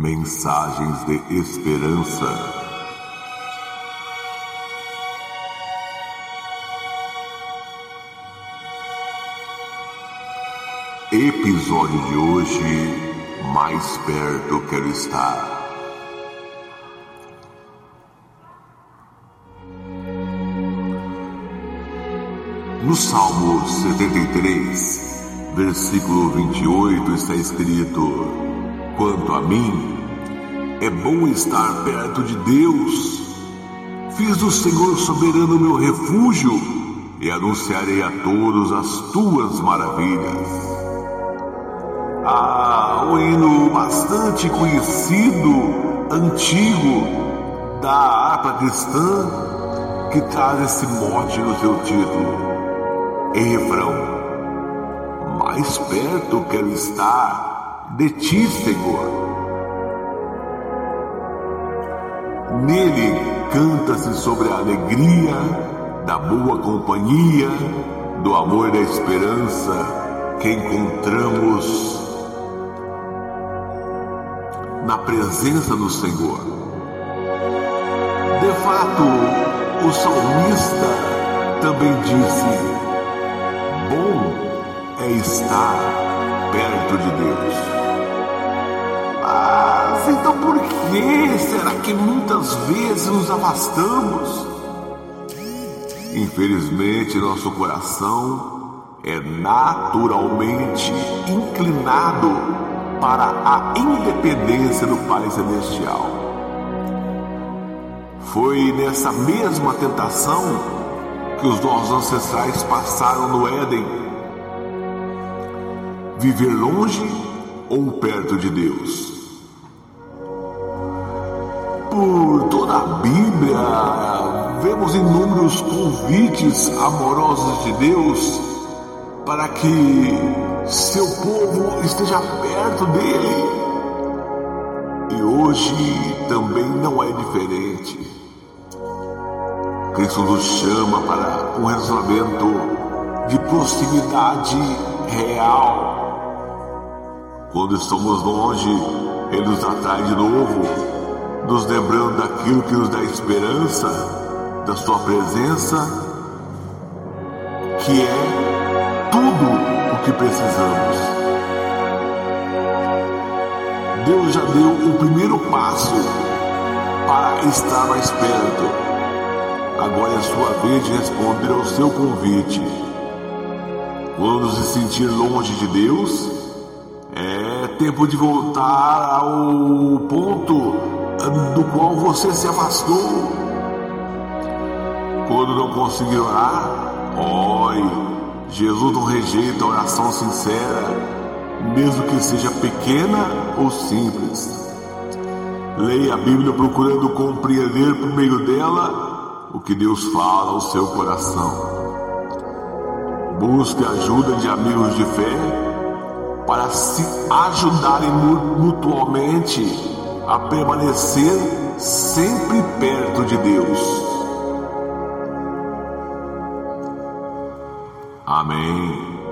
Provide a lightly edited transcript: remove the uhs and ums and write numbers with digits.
Mensagens de esperança. Episódio de hoje: mais perto quero estar. No Salmo 73, versículo 28 está escrito: quanto a mim, é bom estar perto de Deus. Fiz do Senhor soberano meu refúgio e anunciarei a todos as tuas maravilhas. Um hino bastante conhecido, antigo, da harpa cristã, que traz esse mote no seu título. Em refrão: mais perto quero estar de ti, Senhor. Nele canta-se sobre a alegria da boa companhia, do amor e da esperança que encontramos na presença do Senhor. De fato, o salmista também disse: bom é estar perto de Deus. Mas então por que será que muitas vezes nos afastamos? Infelizmente, nosso coração é naturalmente inclinado para a independência do Pai Celestial. Foi nessa mesma tentação que os nossos ancestrais passaram no Éden: viver longe ou perto de Deus. Por toda a Bíblia, vemos inúmeros convites amorosos de Deus para que seu povo esteja perto dele. E hoje também não é diferente. Cristo nos chama para um relacionamento de proximidade real. Quando estamos longe, Ele nos atrai de novo, nos lembrando daquilo que nos dá esperança, da sua presença, que é tudo o que precisamos. Deus já deu o primeiro passo para estar mais perto. Agora é a sua vez de responder ao seu convite. Quando se sentir longe de Deus, é tempo de voltar ao ponto do qual você se afastou. Quando não conseguir orar, ore. Jesus não rejeita a oração sincera, mesmo que seja pequena ou simples. Leia a Bíblia procurando compreender por meio dela o que Deus fala ao seu coração. Busque a ajuda de amigos de fé para se ajudarem mutuamente a permanecer sempre perto de Deus. Amém.